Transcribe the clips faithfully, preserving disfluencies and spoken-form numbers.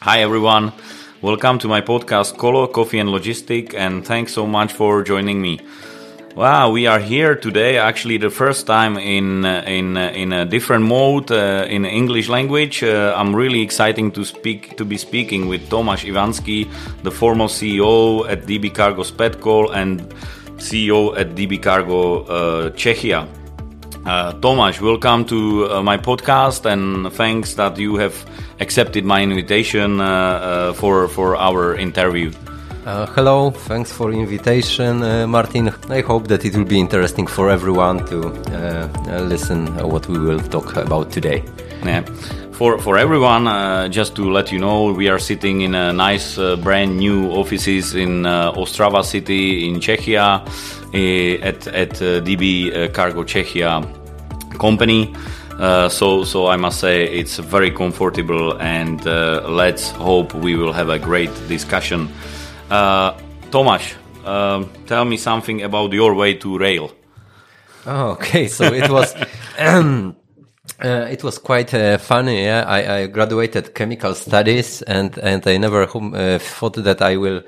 Hi everyone, welcome to my podcast Colo, Coffee and Logistic, and thanks so much for joining me. Wow, we are here today, actually the first time in uh, in uh, in a different mode, uh, in English language. Uh, I'm really excited to speak to be speaking with Tomáš Ivanský, the former C E O at D B Cargo Spetcol and C E O at D B Cargo uh, Czechia. Uh, Tomáš, welcome to uh, my podcast, and thanks that you have accepted my invitation uh, uh, for for our interview. Uh, hello, thanks for invitation, uh, Martin. I hope that it will be interesting for everyone to uh, uh, listen uh, what we will talk about today. Yeah. For for everyone, uh, just to let you know, we are sitting in a nice, uh, brand new offices in uh, Ostrava city in Czechia, uh, at at uh, D B uh, Cargo Czechia company. Uh, so so I must say it's very comfortable, and uh, let's hope we will have a great discussion. Uh, Tomáš, uh, tell me something about your way to rail. Oh, okay, so it was um, uh, it was quite uh, funny. Yeah? I, I graduated chemical studies, and and I never uh, thought that I will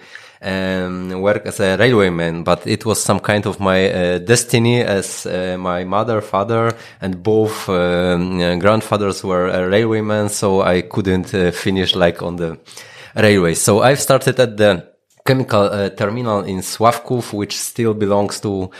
um, work as a railwayman, but it was some kind of my uh, destiny, as uh, my mother, father, and both um, uh, grandfathers were uh, railwaymen, so I couldn't uh, finish like on the railway. So I've started at the chemical uh, terminal in Sławków, which still belongs to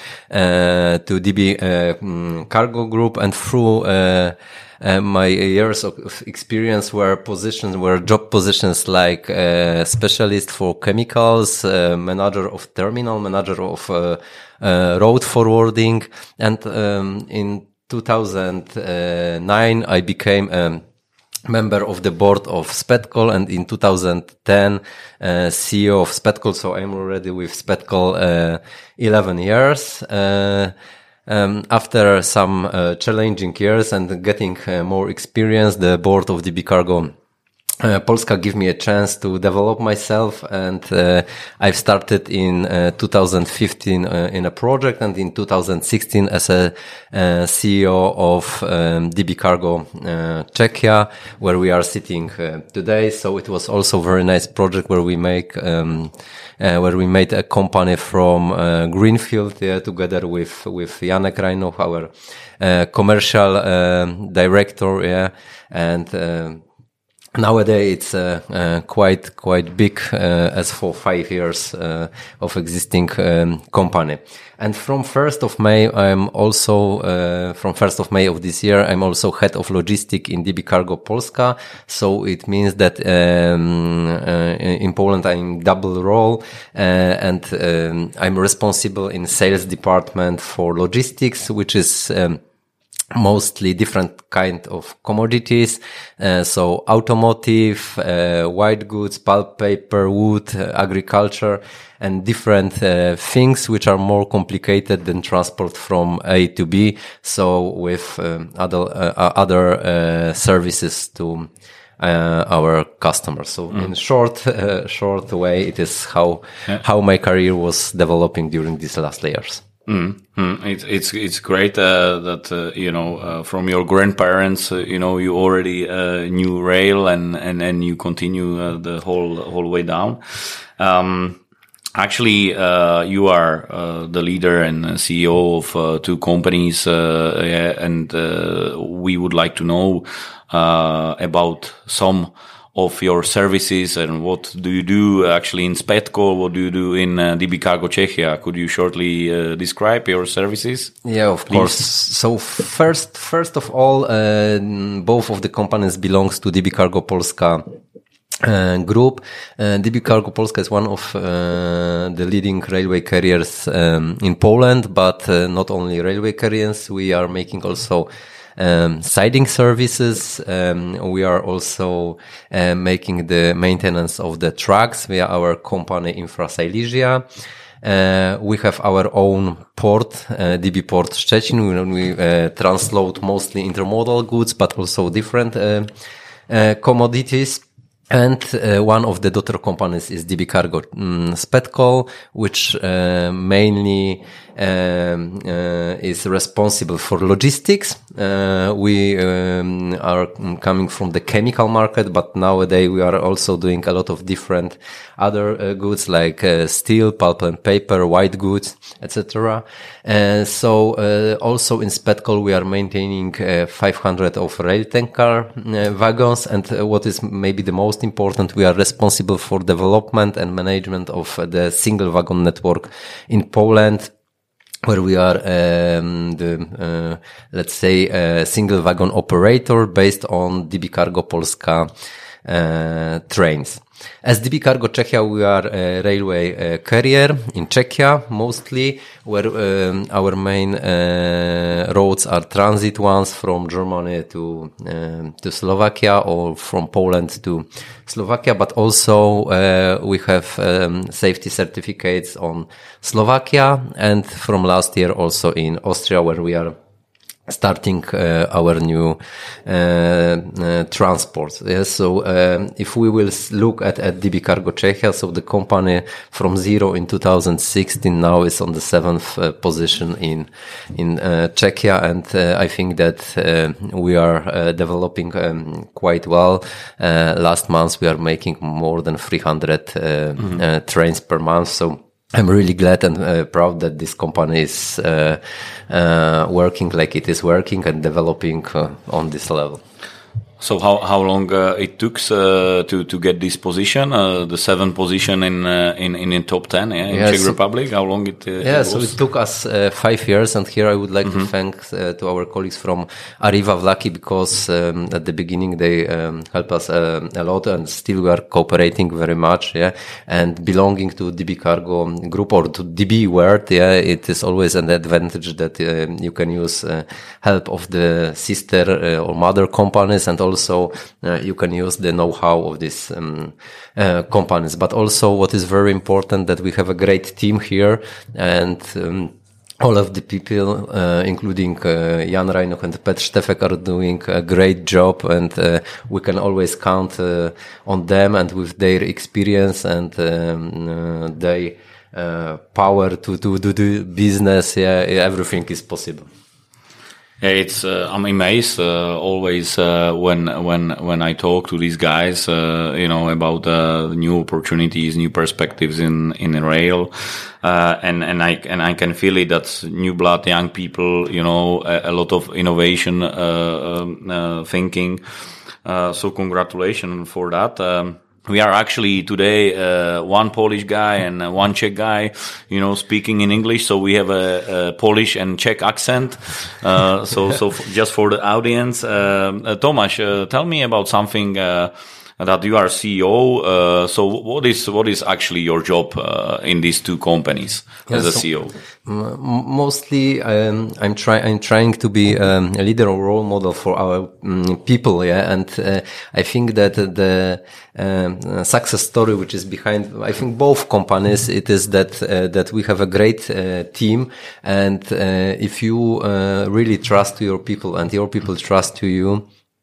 uh, to D B uh, Cargo Group, and through uh, uh, my years of experience were positions, were job positions like uh, specialist for chemicals, uh, manager of terminal, manager of uh, uh, road forwarding, and um, in two thousand nine I became um, member of the board of Spetcol, and in two thousand ten uh, C E O of Spetcol. So I'm already with Spetcol uh, eleven years. Uh, um, after some uh, challenging years and getting uh, more experience, the board of D B Cargo Uh, Polska gave me a chance to develop myself, and uh, I've started in uh, two thousand fifteen uh, in a project, and in two thousand sixteen as a uh, C E O of um, D B Cargo uh, Czechia, where we are sitting uh, today. So it was also a very nice project where we make um, uh, where we made a company from uh, Greenfield, yeah, together with with Janek Rajnoch, our uh, commercial uh, director, yeah, and uh, nowadays, it's uh, uh, quite quite big uh, as for five years uh, of existing um, company. And from first of May, I'm also uh, from first of May of this year, I'm also head of logistics in D B Cargo Polska. So it means that um, uh, in Poland I'm double role, uh, and um, I'm responsible in sales department for logistics, which is um, mostly different kind of commodities, uh, so automotive, uh, white goods, pulp, paper, wood, uh, agriculture, and different uh, things which are more complicated than transport from A to B. So with um, other uh, other uh, services to uh, our customers. So mm. in short, uh, short way, it is how yeah. how my career was developing during these last years. Mm-hmm. It's it's it's great uh, that uh, you know uh, from your grandparents, uh, you know, you already uh, knew rail, and and and you continue uh, the whole whole way down. Um, actually, uh, you are uh, the leader and C E O of uh, two companies, uh, yeah, and uh, we would like to know uh, about some of your services, and what do you do actually in Spetcol? What do you do in uh, D B Cargo Czechia? Could you shortly uh, describe your services? Yeah, of Please. course. So first, first of all, uh, both of the companies belongs to D B Cargo Polska uh, group. Uh, D B Cargo Polska is one of uh, the leading railway carriers um, in Poland, but uh, not only railway carriers. We are making also Um, siding services. Um, we are also uh, making the maintenance of the trucks via our company Infrasilesia. Uh, we have our own port, uh, D B Port Szczecin. We, we uh, transload mostly intermodal goods, but also different uh, uh, commodities. And uh, one of the daughter companies is D B Cargo um, Spetcol, which uh, mainly um, uh, is responsible for logistics. Uh, we um, are coming from the chemical market, but nowadays we are also doing a lot of different other uh, goods like uh, steel, pulp and paper, white goods, et cetera. And so uh, also in Spetcol we are maintaining uh, five hundred of rail tanker uh, wagons, and uh, what is maybe the most important, we are responsible for development and management of uh, the single wagon network in Poland, where we are um, the, uh, let's say, a single wagon operator based on D B Cargo Polska uh, trains. As D B Cargo Czechia, we are a railway uh, carrier in Czechia mostly, where um, our main uh, roads are transit ones from Germany to um, to Slovakia, or from Poland to Slovakia, but also uh, we have um, safety certificates on Slovakia, and from last year also in Austria, where we are starting uh, our new uh, uh, transport. Yes, so um, if we will look at, at D B Cargo Czechia, so the company from zero in two thousand sixteen now is on the seventh uh, position in in uh, Czechia, and uh, I think that uh, we are uh, developing um, quite well. Uh, last month we are making more than three hundred uh, mm-hmm. uh, trains per month, so I'm really glad and uh, proud that this company is uh, uh, working like it is working and developing uh, on this level. So how how long uh, it took uh, to to get this position, uh, the seventh position in uh, in in in top ten, yeah, in yeah, Czech so, Republic? How long it? Uh, yeah, it so it took us uh, five years, and here I would like mm-hmm. to thank uh, to our colleagues from Arriva Vlaky, because um, at the beginning they um, helped us uh, a lot, and still we are cooperating very much. Yeah, and belonging to D B Cargo Group or to D B World, yeah, it is always an advantage that uh, you can use uh, help of the sister uh, or mother companies, and also uh, you can use the know-how of these um, uh, companies. But also what is very important, that we have a great team here, and um, all of the people, uh, including uh, Jan Reinach and Petr Štefek, are doing a great job, and uh, we can always count uh, on them, and with their experience and um, uh, their uh, power to, to, to do business, yeah, everything is possible. Yeah, it's. Uh, I'm amazed uh, always uh, when when when I talk to these guys, uh, you know, about uh, new opportunities, new perspectives in in rail, uh, and and I and I can feel it. That new blood, young people, you know, a, a lot of innovation uh, um, uh, thinking. Uh, so congratulations for that. Um, We are actually today uh, one Polish guy and uh, one Czech guy, you know, speaking in English. So we have a, a Polish and Czech accent. Uh, so, so f- just for the audience, uh, uh, Tomáš, uh, tell me about something uh, that you are C E O. Uh, so, what is what is actually your job uh, in these two companies yeah, as a so C E O? M- mostly, um, I'm trying. I'm trying to be um, a leader or role model for our um, people. Yeah, and uh, I think that the um, success story which is behind, I think, both companies, it is that uh, that we have a great uh, team, and uh, if you uh, really trust your people and your people trust to you.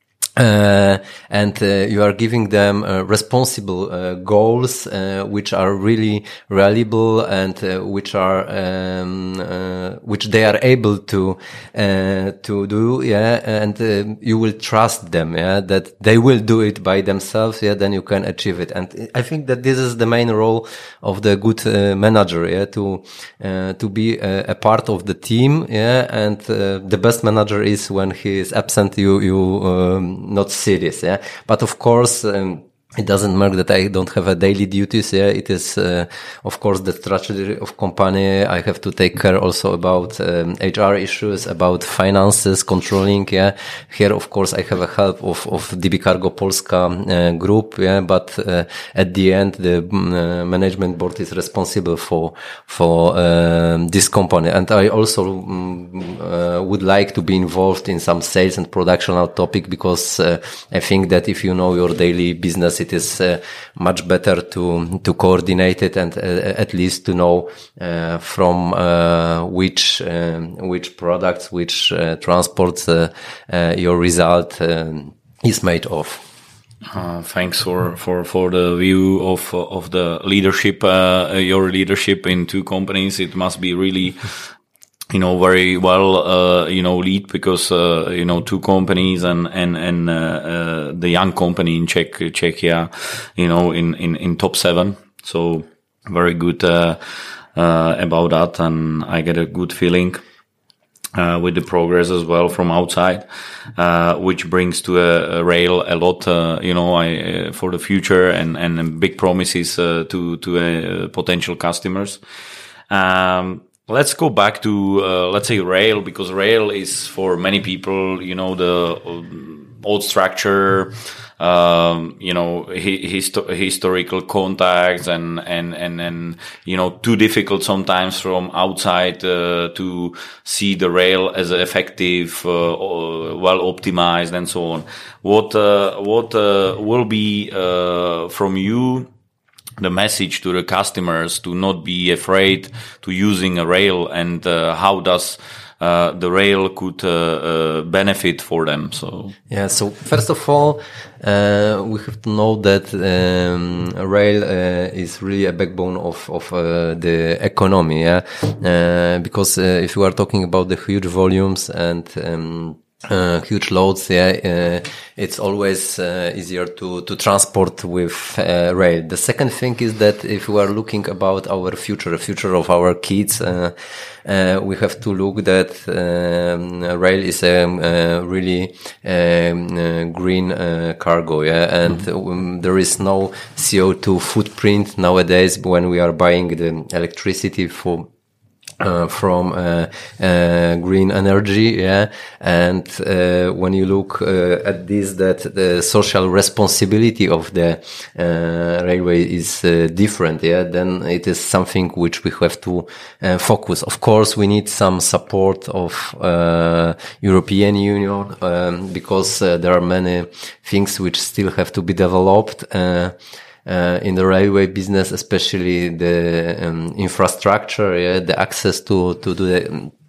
Uh, and uh, you are giving them uh, responsible uh, goals, uh, which are really reliable, and uh, which are um, uh, which they are able to uh, to do. Yeah, and uh, you will trust them. Yeah, that they will do it by themselves. Yeah, then you can achieve it. And I think that this is the main role of the good uh, manager. Yeah, to uh, to be a, a part of the team. Yeah, and uh, the best manager is when he is absent. You you. Um, not serious, yeah. But of course, um, it doesn't matter that I don't have a daily duties. Yeah, it is, uh, of course, the strategy of company. I have to take care also about um, H R issues, about finances, controlling. Yeah, here, of course, I have a help of of D B Cargo Polska uh, group. Yeah, but uh, at the end, the uh, management board is responsible for for um, this company, and I also um, uh, would like to be involved in some sales and productional topic, because uh, I think that if you know your daily business, it is uh, much better to to coordinate it, and uh, at least to know uh, from uh, which um, which products, which uh, transports uh, uh, your result um, is made of. Uh, thanks for, for, for the view of of the leadership, uh, your leadership in two companies. It must be really you know, very well, uh, you know, lead because, uh, you know, two companies and, and, and, uh, uh, the young company in Czech, Czechia, you know, in, in, in top seven. So very good, uh, uh, about that. And I get a good feeling, uh, with the progress as well from outside, uh, which brings to a, a rail a lot, uh, you know, I, uh, for the future and, and big promises, uh, to, to, uh, potential customers. Um, Let's go back to, uh, let's say rail, because rail is for many people, you know, the old structure, um, you know, histo- historical contacts and, and, and, and, you know, too difficult sometimes from outside, uh, to see the rail as effective, uh, well optimized and so on. What, uh, what, uh, will be, uh, from you, the message to the customers to not be afraid to using a rail, and uh, how does uh, the rail could uh, uh, benefit for them? So yeah, so first of all, uh, we have to know that um, rail uh, is really a backbone of of uh, the economy. Yeah, uh, because uh, if you are talking about the huge volumes and um, Uh, huge loads, yeah, uh, it's always uh, easier to to transport with uh, rail. The second thing is that if we are looking about our future, the future of our kids, uh, uh, we have to look that um, rail is a um, uh, really um, uh, green uh, cargo, yeah, and mm-hmm. um, there is no C O two footprint nowadays when we are buying the electricity for Uh, from uh, uh, green energy, yeah, and uh, when you look uh, at this, that the social responsibility of the uh, railway is uh, different, yeah, then it is something which we have to uh, focus. Of course, we need some support of uh, European Union um, because uh, there are many things which still have to be developed. Uh, Uh, in the railway business, especially the um, infrastructure, yeah, the access to to the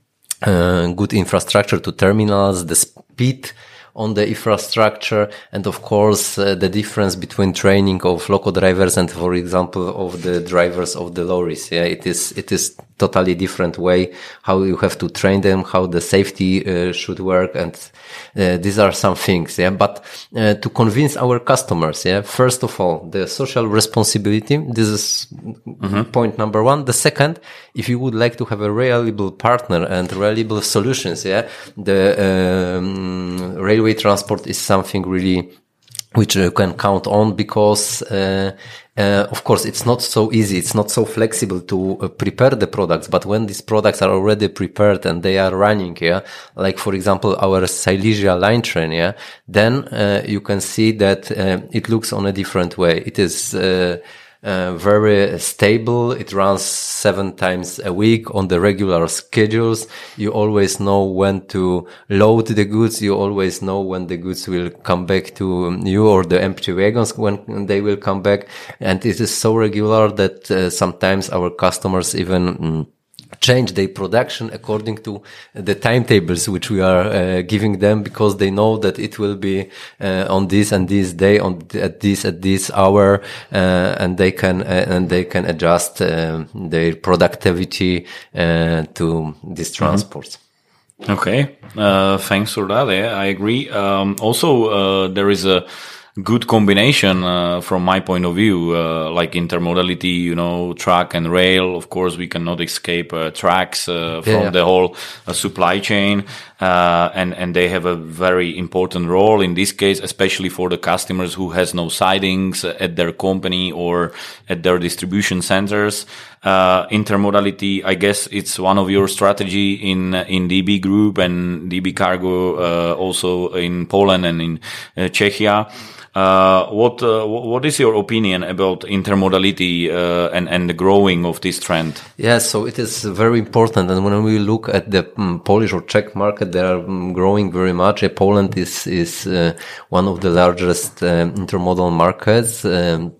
uh, good infrastructure to terminals, the speed on the infrastructure, and of course uh, the difference between training of loco drivers and, for example, of the drivers of the lorries. Yeah, it is it is totally different way how you have to train them, how the safety uh, should work, and uh, these are some things. Yeah, but uh, to convince our customers, yeah, first of all, the social responsibility. This is mm-hmm. point number one. The second, if you would like to have a reliable partner and reliable solutions, yeah, the um, railway transport is something really which you can count on, because uh, uh, of course it's not so easy, it's not so flexible to uh, prepare the products, but when these products are already prepared and they are running, yeah, like for example our Silesia line train, yeah, then uh, you can see that uh, it looks on a different way. It is uh, Uh, very stable. It runs seven times a week on the regular schedules. You always know when to load the goods. You always know when the goods will come back to you, or the empty wagons when they will come back. And it is so regular that uh, sometimes our customers even mm, change their production according to the timetables which we are uh, giving them, because they know that it will be uh, on this and this day, on at this at this hour, uh, and they can uh, and they can adjust uh, their productivity uh, to these transports. Mm-hmm. Okay, uh, thanks for that. Yeah, I agree. Um, also, uh, there is a good combination uh, from my point of view, uh, like intermodality, you know, truck and rail. Of course, we cannot escape uh, tracks uh, from yeah. the whole uh, supply chain, uh, and and they have a very important role in this case, especially for the customers who has no sidings at their company or at their distribution centers. Uh, intermodality, I guess it's one of your strategy in in D B Group and D B Cargo, uh, also in Poland and in uh, Czechia. Uh, what uh, what is your opinion about intermodality uh, and and the growing of this trend? Yeah, so it is very important, and when we look at the um, Polish or Czech market, they are um, growing very much. Uh, Poland is is uh, one of the largest um, intermodal markets. Um,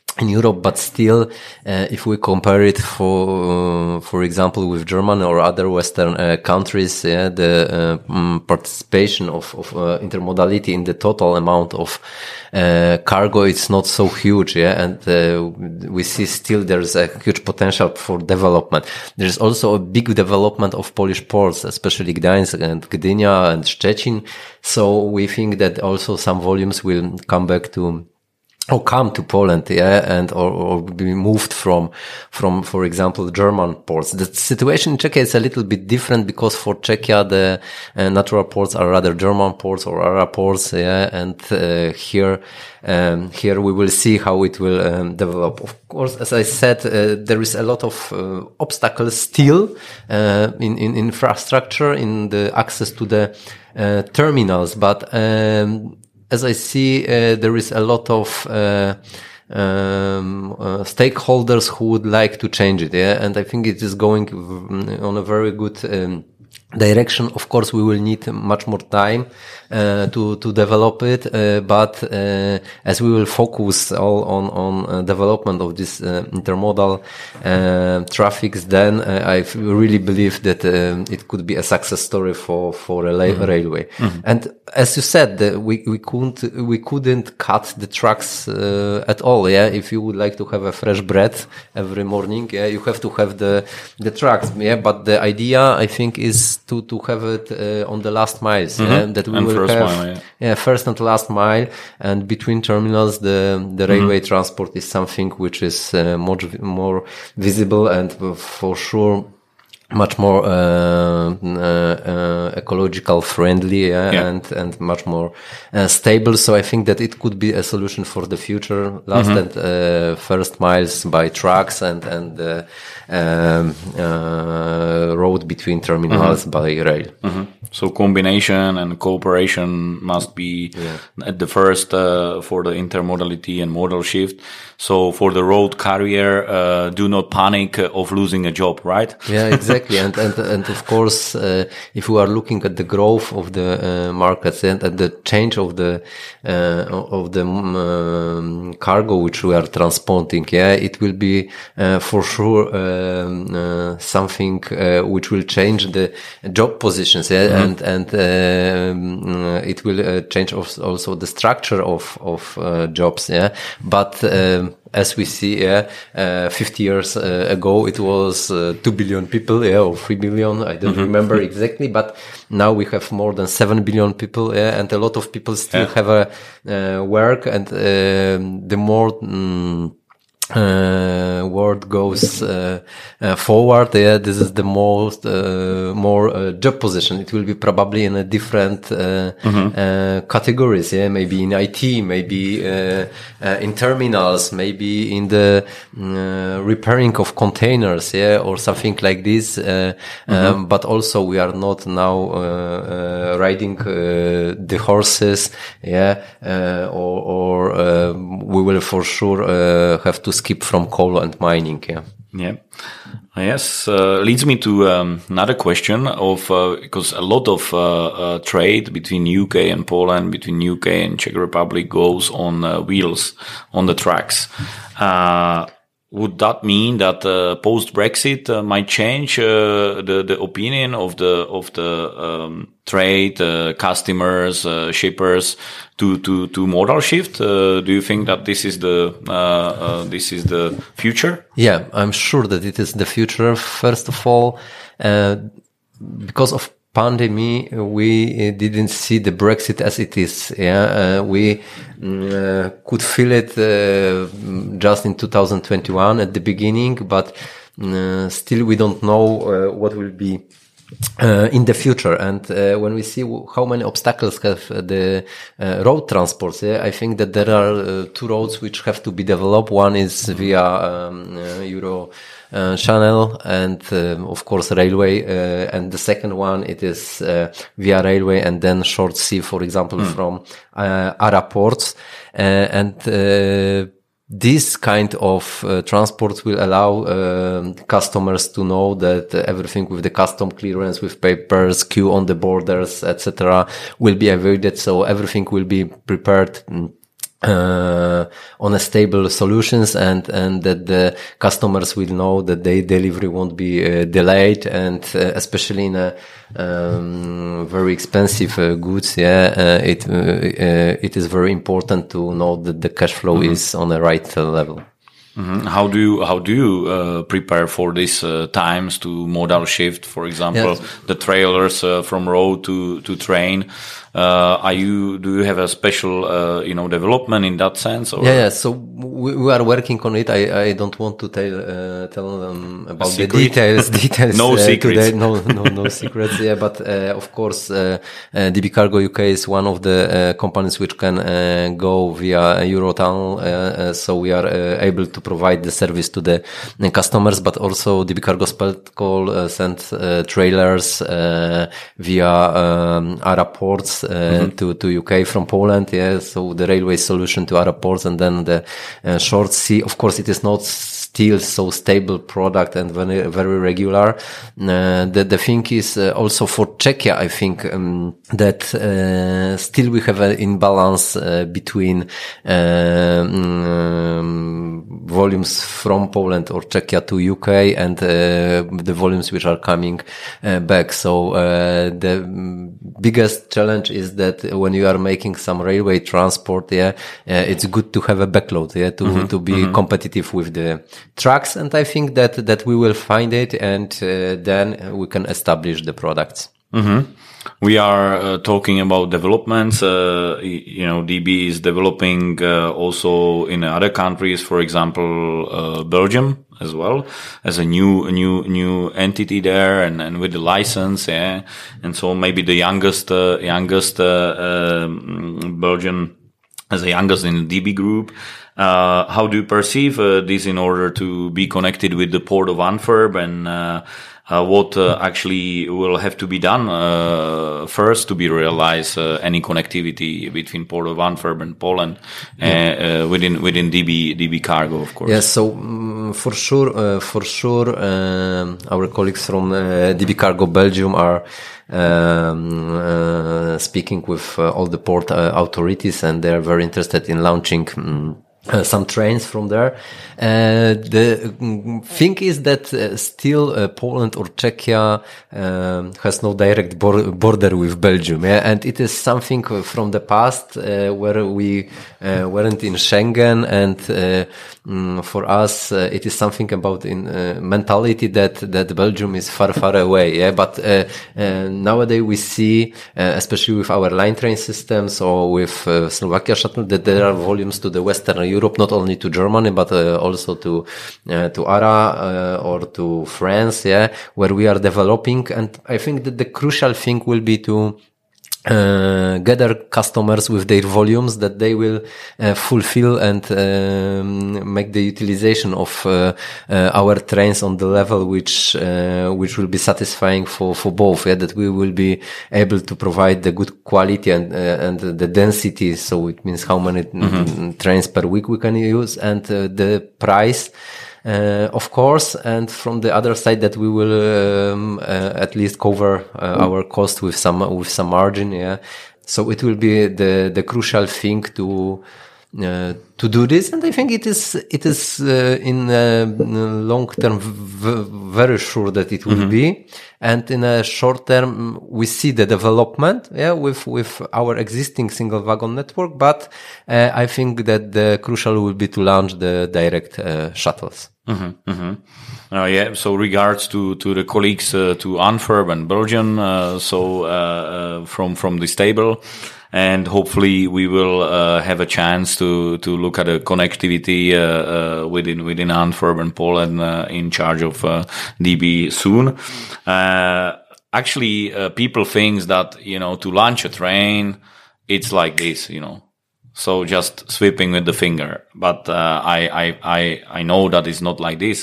in Europe, but still, uh, if we compare it for, uh, for example, with Germany or other Western uh, countries, yeah, the uh, um, participation of, of uh, intermodality in the total amount of uh, cargo, it's not so huge, yeah, and uh, we see still there's a huge potential for development. There's also a big development of Polish ports, especially Gdańsk and Gdynia and Szczecin. So we think that also some volumes will come back to or come to Poland, yeah, and or, or be moved from, from, for example, German ports. The situation in Czechia is a little bit different because for Czechia, the uh, natural ports are rather German ports or Arab ports, yeah, and uh, here, um, here we will see how it will um, develop. Of course, as I said, uh, there is a lot of uh, obstacles still uh, in, in infrastructure, in the access to the uh, terminals, but um, as I see, uh, there is a lot of uh, um, uh, stakeholders who would like to change it, yeah, and I think it is going on a very good um, direction. Of course, we will need much more time uh, to to develop it, uh, but uh, as we will focus all on on uh, development of this uh, intermodal uh, traffics, then uh, I really believe that um, it could be a success story for for a mm-hmm. railway. Mm-hmm. And as you said, the, we we couldn't we couldn't cut the trucks uh, at all. Yeah, if you would like to have a fresh bread every morning, yeah, you have to have the the trucks. Yeah, but the idea, I think, is to to have it uh, on the last miles, mm-hmm. yeah, that we and will first have mile, yeah. yeah first and last mile, and between terminals the the railway mm-hmm. transport is something which is uh, much more visible and uh, for sure much more uh, uh, uh, ecological friendly, yeah, yeah. and and much more uh, stable. So I think that it could be a solution for the future. Last mm-hmm. and uh, first miles by trucks and and uh, um, uh, road between terminals mm-hmm. by rail. Mm-hmm. So combination and cooperation must be yeah. at the first uh, for the intermodality and modal shift. So for the road carrier, uh, do not panic of losing a job, right? Yeah, exactly. and, and, and of course, uh, if we are looking at the growth of the uh, markets and at the change of the, uh, of the um, cargo which we are transporting, yeah, it will be, uh, for sure, um, uh, something, uh, which will change the job positions, yeah, mm-hmm. and, and, uh, it will uh, change also the structure of, of, uh, jobs, yeah, but, um, as we see, yeah, uh, fifty years uh, ago, it was uh, two billion people, yeah, or three billion. I don't mm-hmm. remember exactly, but now we have more than seven billion people, yeah, and a lot of people still yeah. have a uh, work, and uh, the more um, uh, world goes uh, uh, forward, yeah, this is the most uh, more uh, job position. It will be probably in a different uh, mm-hmm. uh, categories, yeah, maybe in I T, maybe uh, uh, in terminals, maybe in the uh, repairing of containers, yeah, or something like this. Uh, mm-hmm. um, but also we are not now uh, uh, riding uh, the horses, yeah, uh, or, or uh, we will for sure uh, have to skip from coal and mining, yeah. Yeah. Yes, uh, leads me to um, another question of, uh, because a lot of uh, uh, trade between U K and Poland, between U K and Czech Republic goes on uh, wheels, on the tracks. Uh, would that mean that uh, post-Brexit uh, might change uh, the the opinion of the of the um, trade, uh, customers, uh, shippers to to to modal shift? Uh, do you think that this is the uh, uh, this is the future? Yeah, I'm sure that it is the future. First of all, uh, because of pandemic, we didn't see the Brexit as it is. Yeah, uh, we uh, could feel it uh, just in two thousand twenty-one at the beginning, but uh, still we don't know uh, what will be Uh, in the future. And uh, when we see w- how many obstacles have uh, the uh, road transports, yeah, I think that there are uh, two roads which have to be developed. One is via um, uh, Euro uh, Channel and uh, of course railway, uh, and the second one it is uh, via railway and then short sea, for example, mm. from uh, Arab ports, uh, and uh, this kind of uh, transport will allow uh, customers to know that uh, everything with the custom clearance, with papers, queue on the borders, et cetera, will be avoided. So everything will be prepared uh, on a stable solutions, and, and that the customers will know that their delivery won't be uh, delayed, and uh, especially in a um, very expensive uh, goods, yeah, uh, it uh, uh, it is very important to know that the cash flow mm-hmm. is on the right uh, level. Mm-hmm. How do you how do you uh, prepare for these uh, times to modal shift? For example, yes. the trailers uh, from road to to train. Uh, are you do you have a special uh, you know development in that sense? Or? Yeah, yeah. So we, we are working on it. I, I don't want to tell uh, tell them about the details. Details. no uh, secrets. Today. No, no, no secrets. Yeah, but uh, of course, uh, uh, D B Cargo U K is one of the uh, companies which can uh, go via Eurotunnel. Uh, uh, so we are uh, able to provide the service to the uh, customers, but also D B Cargo Speltcall uh, send uh, trailers uh, via um, ARA ports uh, mm-hmm. to to U K from Poland. Yeah, so the railway solution to ARA ports, and then the uh, short sea. Of course, it is not still so stable product and very very regular. Uh, the the thing is uh, also for Czechia, I think um, that uh, still we have an imbalance uh, between uh, um, volumes from Poland or Czechia to U K and uh, the volumes which are coming uh, back. So uh, the biggest challenge is that when you are making some railway transport, yeah, uh, it's good to have a backload, yeah, to mm-hmm. to be mm-hmm. competitive with the trucks. And I think that that we will find it, and uh, then we can establish the products. Mm-hmm. We are uh, talking about developments. Uh, you know, D B is developing uh, also in other countries. For example, uh, Belgium as well as a new, a new, new entity there, and, and with the license. Yeah, and so maybe the youngest, uh, youngest uh, um, Belgian as the youngest in the D B group. Uh, how do you perceive uh, this in order to be connected with the port of Antwerp, and uh, uh, what uh, actually will have to be done uh, first to be realized uh, any connectivity between port of Antwerp and Poland uh, yeah. uh, within within D B D B Cargo, of course. Yes, yeah, so um, for sure, uh, for sure, um, our colleagues from uh, D B Cargo Belgium are Um, uh, speaking with uh, all the port uh, authorities, and they're very interested in launching um, uh, some trains from there. Uh, the um, thing is that uh, still uh, Poland or Czechia um, has no direct bor- border with Belgium, yeah? And it is something from the past uh, where we uh, weren't in Schengen, and uh, um, for us uh, it is something about in uh, mentality that that Belgium is far far away, yeah. But uh, uh, nowadays we see, uh, especially with our line train systems or with uh, Slovakia shuttle, that there are volumes to the Western Europe, not only to Germany but uh, also to uh, to ARA uh, or to France, yeah, where we are developing. And I think that the crucial thing will be to uh, gather customers with their volumes that they will uh, fulfill, and um, make the utilization of uh, uh, our trains on the level which uh, which will be satisfying for for both, yeah, that we will be able to provide the good quality and uh, and the density, so it means how many mm-hmm. trains per week we can use, and uh, the price, Uh, of course, and from the other side that we will um, uh, at least cover uh, mm. our cost with some with some margin. Yeah, so it will be the the crucial thing to uh, to do this, and I think it is it is uh, in uh, long term v- very sure that it will mm-hmm. be, and in a short term we see the development, yeah, with with our existing single wagon network. But uh, I think that the crucial will be to launch the direct uh, shuttles. Mm-hmm, mm-hmm. Uh, yeah. So regards to to the colleagues uh, to Antwerp and Belgium. Uh, so uh, uh, from from this table. And hopefully we will uh, have a chance to to look at a connectivity uh, uh, within within Antwerp and Poland uh, in charge of uh, D B soon. Uh, actually, uh, people think that, you know, to launch a train, it's like this, you know, so just sweeping with the finger. But uh, I I I I know that it's not like this.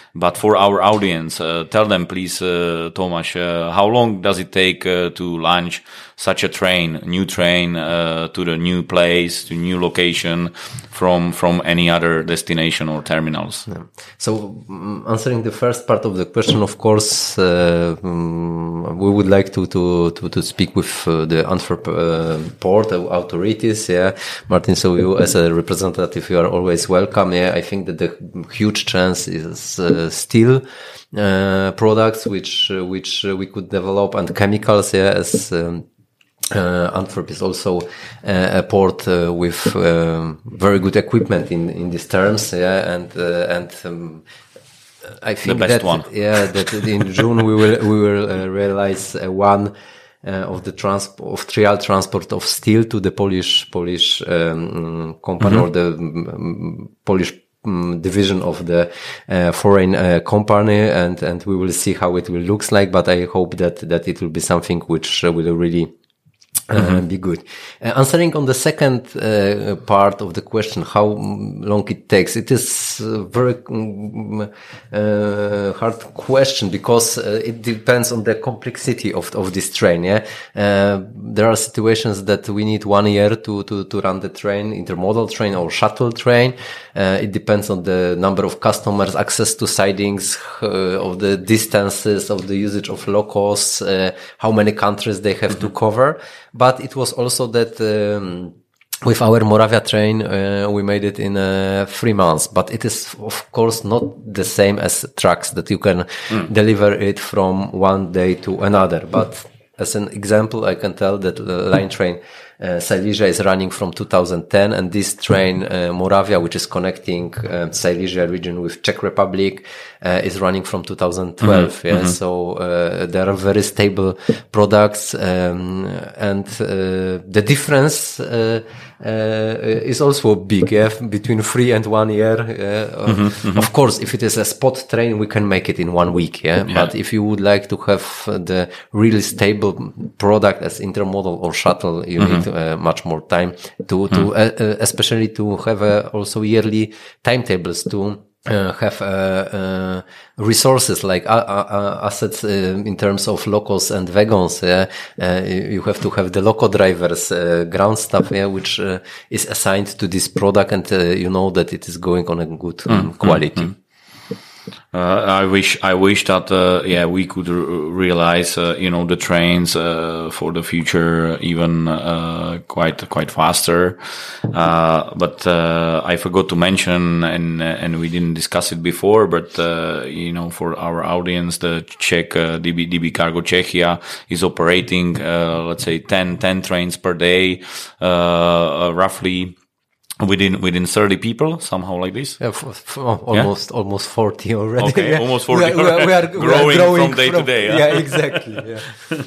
But for our audience, uh, tell them please, uh, Tomáš, uh, how long does it take uh, to launch such a train, new train, uh, to the new place, to new location from from any other destination or terminals? Yeah. So um, answering the first part of the question, of course, uh, um, we would like to to to, to speak with uh, the Antwerp uh, port authorities. Yeah, Martin. So you, as a representative, you are always welcome. Yeah, I think that the huge chance is uh, still uh, products which uh, which uh, we could develop, and chemicals. Yeah, as um, Uh, Antwerp is also uh, a port uh, with um, very good equipment in in these terms, yeah, and uh, and um, I think the best that one. yeah that in June we will we will uh, realize uh, one uh, of the transport of trial transport of steel to the Polish Polish um, company mm-hmm. or the um, Polish um, division of the uh, foreign uh, company, and and we will see how it will looks like. But I hope that that it will be something which uh, will really Uh, mm-hmm. be good. Uh, answering on the second uh, part of the question, how long it takes, it is a very um, uh, hard question because uh, it depends on the complexity of of this train. Yeah, uh, there are situations that we need one year to to to run the train, intermodal train or shuttle train. Uh, it depends on the number of customers, access to sidings, uh, of the distances, of the usage of locos, uh, how many countries they have mm-hmm. to cover. But it was also that um, with our Moravia train, uh, we made it in uh, three months. But it is, of course, not the same as trucks that you can mm. deliver it from one day to another. But as an example, I can tell that the line train Uh, Silesia is running from two thousand ten, and this train, uh, Moravia, which is connecting uh, Silesia region with Czech Republic, uh, is running from two thousand twelve. Mm-hmm. Yeah, mm-hmm. so uh, there are very stable products, um, and uh, the difference uh, uh, is also big. Yeah, between three and one year. Uh, mm-hmm. Mm-hmm. Of course, if it is a spot train, we can make it in one week. Yeah, yeah. But if you would like to have the really stable product as intermodal or shuttle, you mm-hmm. need Uh, much more time to, to, mm. uh, uh, especially to have uh, also yearly timetables to uh, have uh, uh, resources like uh, uh, assets uh, in terms of locos and wagons. Yeah? Uh, you have to have the loco drivers, uh, ground staff, yeah, which uh, is assigned to this product, and uh, you know that it is going on a good um, mm. quality. Mm. Uh, I wish, I wish that, uh, yeah, we could r- realize, uh, you know, the trains, uh, for the future even, uh, quite, quite faster. Uh, but, uh, I forgot to mention, and, and we didn't discuss it before, but, uh, you know, for our audience, the Czech, uh, D B, D B Cargo Czechia is operating, uh, let's say ten, ten trains per day, uh, roughly. Within within thirty people, somehow like this. Yeah, f- f- almost yeah? almost forty already. Okay, yeah. almost forty. We are, we are, we are growing, we are growing from day from, to day. Yeah, yeah exactly. Yeah.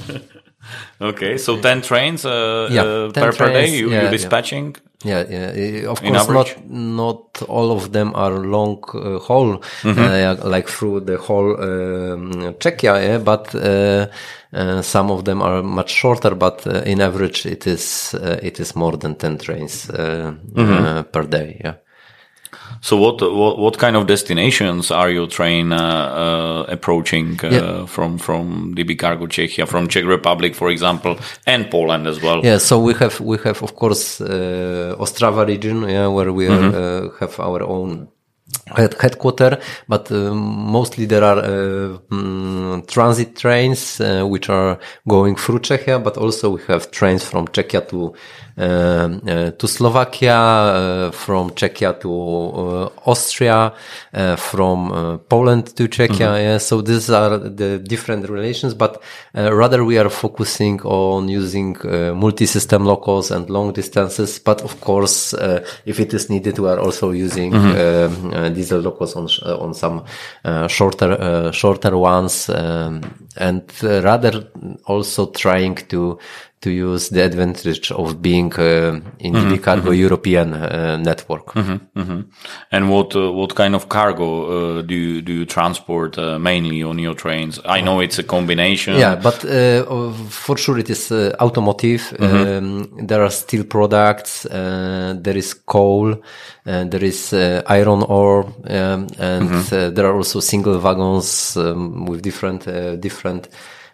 Okay, so ten trains uh, yeah, uh, ten per, trains, per day you, yeah, you're dispatching? Yeah, yeah. Of course, not not all of them are long uh, haul, mm-hmm. uh, like through the whole um, Czechia, yeah, but uh, uh, some of them are much shorter. But uh, in average, it is uh, it is more than ten trains uh, mm-hmm. uh, per day. Yeah. So what, what what kind of destinations are your train uh, uh, approaching uh, yeah. from from D B Cargo Czechia, from Czech Republic, for example, and Poland as well? Yeah, so we have we have of course uh, Ostrava region, yeah, where we mm-hmm. are, uh, have our own head headquarter, but uh, mostly there are uh, um, transit trains uh, which are going through Czechia, but also we have trains from Czechia to uh, uh, to Slovakia, uh, from Czechia to uh, Austria, uh, from uh, Poland to Czechia. Mm-hmm. Yeah, so these are the different relations, but uh, rather we are focusing on using uh, multi-system locals and long distances. But of course, uh, if it is needed, we are also using mm-hmm. uh, uh, diesel locals on uh, on some uh, shorter uh, shorter ones, um, and uh, rather also trying to to use the advantage of being uh, in mm-hmm, D B Cargo mm-hmm. European uh, network. Mm-hmm, mm-hmm. And what uh, what kind of cargo uh, do you, do you transport uh, mainly on your trains? I know it's a combination. Yeah, but uh, for sure it is uh, automotive. Mm-hmm. Um, there are steel products. Uh, there is coal. And there is uh, iron ore, um, and mm-hmm. uh, there are also single wagons um, with different uh, different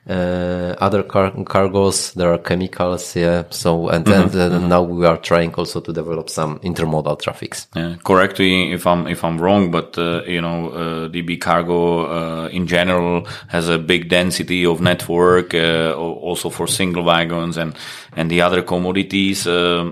uh, other car- cargos. There are chemicals, yeah. So and, mm-hmm. and uh, mm-hmm. now we are trying also to develop some intermodal traffics. Yeah, correct me if I'm if I'm wrong, but uh, you know, uh, D B Cargo uh, in general has a big density of network, uh, also for single wagons and and the other commodities. Uh,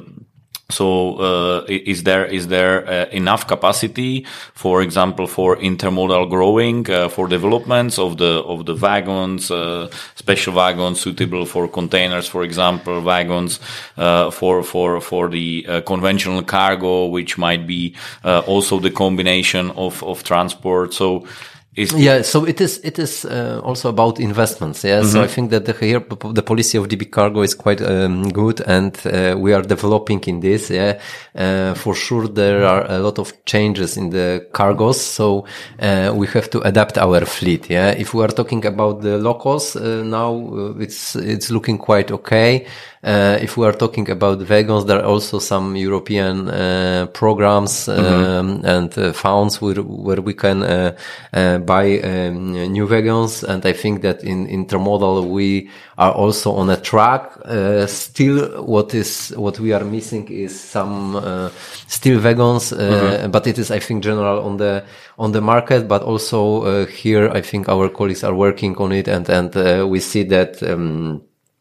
So, uh, is there, is there uh, enough capacity, for example, for intermodal growing, uh, for developments of the, of the wagons, uh, special wagons suitable for containers, for example, wagons, uh, for, for, for the uh, conventional cargo, which might be, uh, also the combination of, of transport. So, Is yeah, so it is, it is, uh, also about investments. Yeah. Mm-hmm. So I think that the, here, the policy of D B Cargo is quite, um, good and, uh, we are developing in this. Yeah. Uh, for sure there are a lot of changes in the cargos. So, uh, we have to adapt our fleet. Yeah. If we are talking about the locals, uh, now uh, it's, it's looking quite okay. Uh, if we are talking about wagons, there are also some European uh, programs um, mm-hmm. and uh, funds where, where we can uh, uh, buy um, new wagons. And I think that in intermodal we are also on a track. Uh, still, what is what we are missing is some uh, steel wagons, uh, mm-hmm. but it is, I think, general on the on the market. But also uh, here, I think our colleagues are working on it, and and uh, we see that. Um,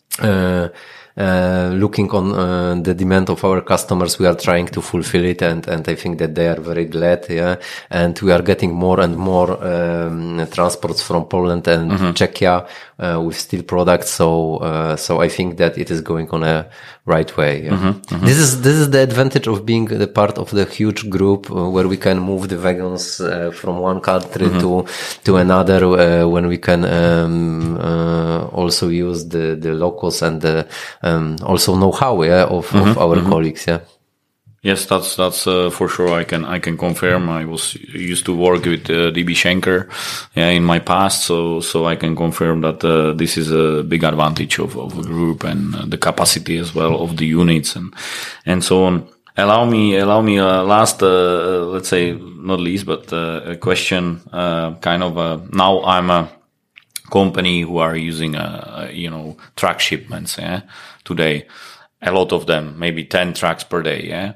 uh, Uh, looking on uh, the demand of our customers, we are trying to fulfill it, and, and I think that they are very glad, yeah. And we are getting more and more um, transports from Poland and mm-hmm. Czechia uh, with steel products. So, uh, so I think that it is going on a right way. Yeah. Mm-hmm. Mm-hmm. This is this is the advantage of being the part of the huge group uh, where we can move the wagons uh, from one country mm-hmm. to to another. Uh, when we can um, uh, also use the the locals and the Um, also know-how, yeah, of, mm-hmm, of our mm-hmm. colleagues, yeah. Yes, that's that's uh, for sure. I can I can confirm. I was used to work with uh, D B Schenker, yeah, in my past, so so I can confirm that uh, this is a big advantage of of a group and uh, the capacity as well of the units and and so on. Allow me, allow me, uh, last, uh, let's say, not least, but uh, a question, uh, kind of. Uh, now I'm a company who are using, uh, you know, truck shipments, yeah, today. A lot of them, maybe ten trucks per day, yeah.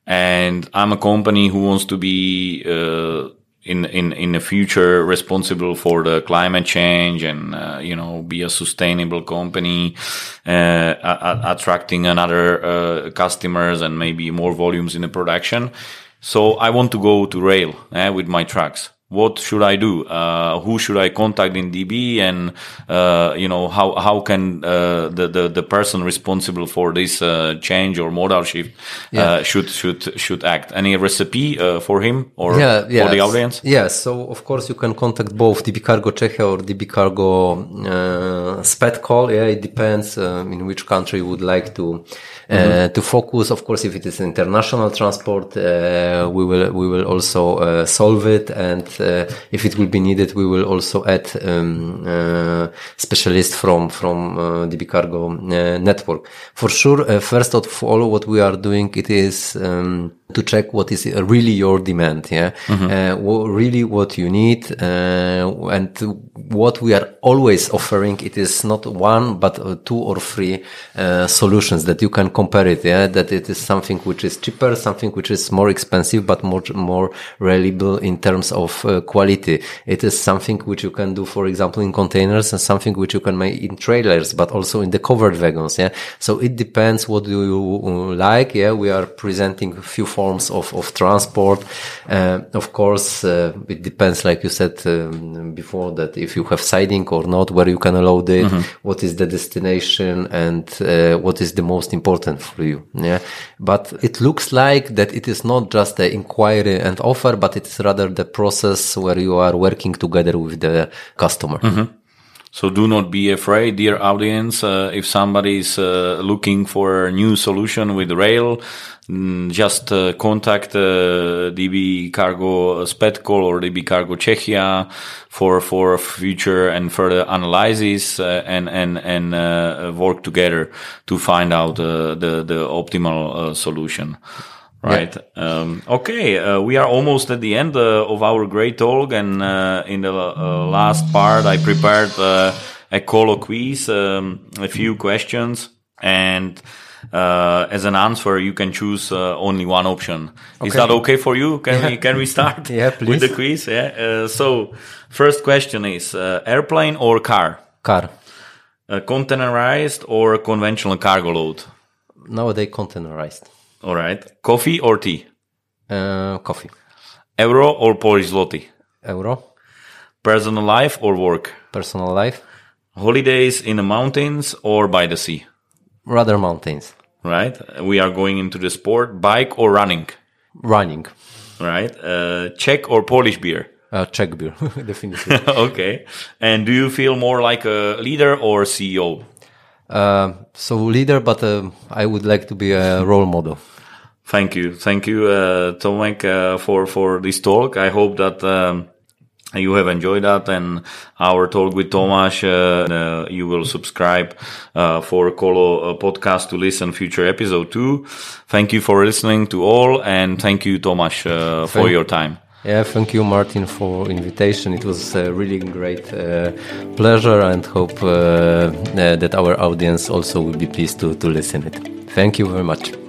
And I'm a company who wants to be, uh, in, in, in the future responsible for the climate change and, uh, you know, be a sustainable company, uh, a- attracting another, uh, customers and maybe more volumes in the production. So I want to go to rail, eh, with my trucks. What should I do? Uh, who should I contact in D B? And, uh, you know, how, how can, uh, the, the, the person responsible for this, uh, change or modal shift, yeah. uh, should, should, should act? Any recipe, uh, for him or yeah, yeah. for the audience? Yeah. So, of course, you can contact both D B Cargo Czechia or D B Cargo, uh, SpedCall. Yeah. It depends, um, in which country you would like to, uh, mm-hmm. to focus. Of course, if it is international transport, uh, we will, we will also, uh, solve it. And, Uh, if it will be needed, we will also add um, uh, specialists from from uh, D B Cargo uh, network. For sure, uh, first of all, what we are doing it is um, to check what is really your demand, yeah, mm-hmm. uh, what, really what you need, uh, and what we are always offering. It is not one but uh, two or three uh, solutions that you can compare it. Yeah, that it is something which is cheaper, something which is more expensive but more more reliable in terms of uh, quality. It is something which you can do, for example, in containers, and something which you can make in trailers, but also in the covered wagons. Yeah, so it depends what do you like. Yeah, we are presenting a few forms of of transport. Uh, of course, uh, it depends, like you said um, before, that if you have siding or not, where you can load it, mm-hmm. what is the destination, and uh, what is the most important for you. Yeah, but it looks like that it is not just the inquiry and offer, but it is rather the process where you are working together with the customer. Mm-hmm. So do not be afraid, dear audience. Uh, if somebody is uh, looking for a new solution with rail, mm, just uh, contact uh, D B Cargo Spetkol or D B Cargo Czechia for for future and further analysis uh, and and and uh, work together to find out uh, the the optimal uh, solution. Right. Yeah. Um, okay. Uh, we are almost at the end uh, of our great talk, and uh, in the uh, last part, I prepared uh, a Colo quiz, um, a few questions, and uh, as an answer, you can choose uh, only one option. Okay. Is that okay for you? Can yeah. we can we start? Yeah, please. With the quiz? Yeah. Uh, so, first question is: uh, airplane or car? Car. Uh, containerized or conventional cargo load? Nowadays, containerized. All right. Coffee or tea? Uh, coffee. Euro or Polish zloty? Euro. Personal life or work? Personal life. Holidays in the mountains or by the sea? Rather mountains. Right. We are going into the sport. Bike or running? Running. Right. Uh, Czech or Polish beer? Uh, Czech beer, definitely. Okay. And do you feel more like a leader or C E O? Uh, so leader, but uh, I would like to be a role model. Thank you. Thank you, uh, Tomek, uh, for, for this talk. I hope that um, you have enjoyed that and our talk with Tomáš. Uh, uh, you will subscribe uh, for Colo uh, podcast to listen future episode too. Thank you for listening to all, and thank you, Tomáš, uh, for thank your time. Yeah, thank you, Martin, for invitation. It was a really great uh, pleasure, and hope uh, uh, that our audience also will be pleased to, to listen it. Thank you very much.